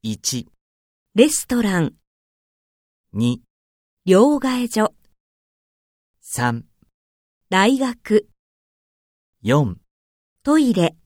1、 レストラン、 2、 両替所、 3、 大学、 4、 トイレ。